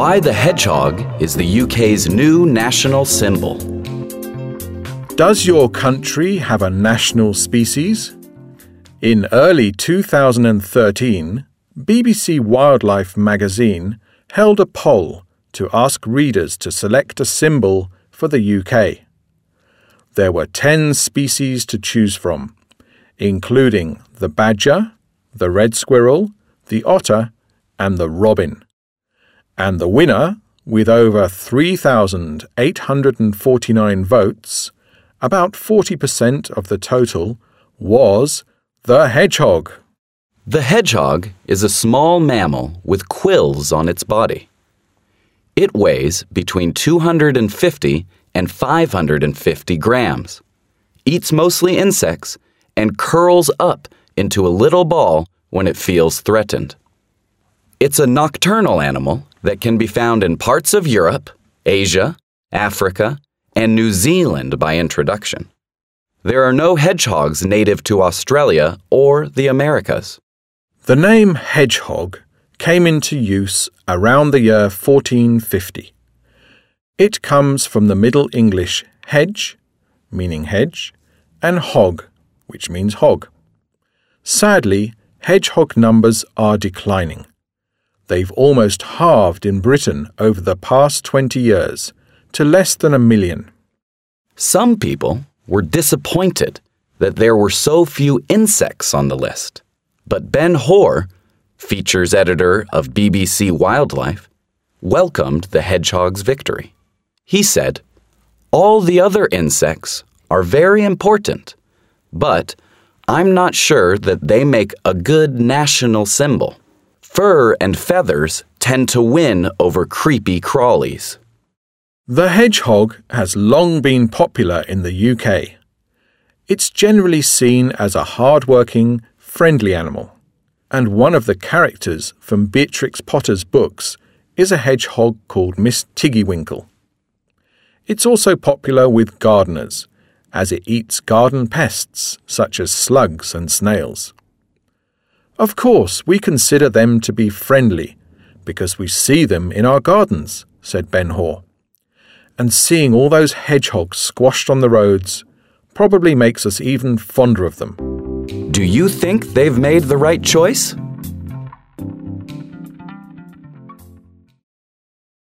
Why the hedgehog is the UK's new national symbol. Does your country have a national species? In early 2013, BBC Wildlife magazine held a poll to ask readers to select a symbol for the UK. There were 10 species to choose from, including the badger, the red squirrel, the otter, and the robin. And the winner, with over 3,849 votes, about 40% of the total, was the hedgehog. The hedgehog is a small mammal with quills on its body. It weighs between 250 and 550 grams, eats mostly insects, and curls up into a little ball when it feels threatened. It's a nocturnal animal that can be found in parts of Europe, Asia, Africa, and New Zealand by introduction. There are no hedgehogs native to Australia or the Americas. The name hedgehog came into use around the year 1450. It comes from the Middle English hedge, meaning hedge, and hog, which means hog. Sadly, hedgehog numbers are declining. They've almost halved in Britain over the past 20 years to less than 1 million. Some people were disappointed that there were so few insects on the list. But Ben Hoare, features editor of BBC Wildlife, welcomed the hedgehog's victory. He said, "All the other insects are very important, but I'm not sure that they make a good national symbol. Fur and feathers tend to win over creepy crawlies." The hedgehog has long been popular in the UK. It's generally seen as a hard-working, friendly animal, and one of the characters from Beatrix Potter's books is a hedgehog called Miss Tiggywinkle. It's also popular with gardeners, as it eats garden pests such as slugs and snails. Of course, we consider them to be friendly because we see them in our gardens, said Ben Hoare. And seeing all those hedgehogs squashed on the roads probably makes us even fonder of them. Do you think they've made the right choice?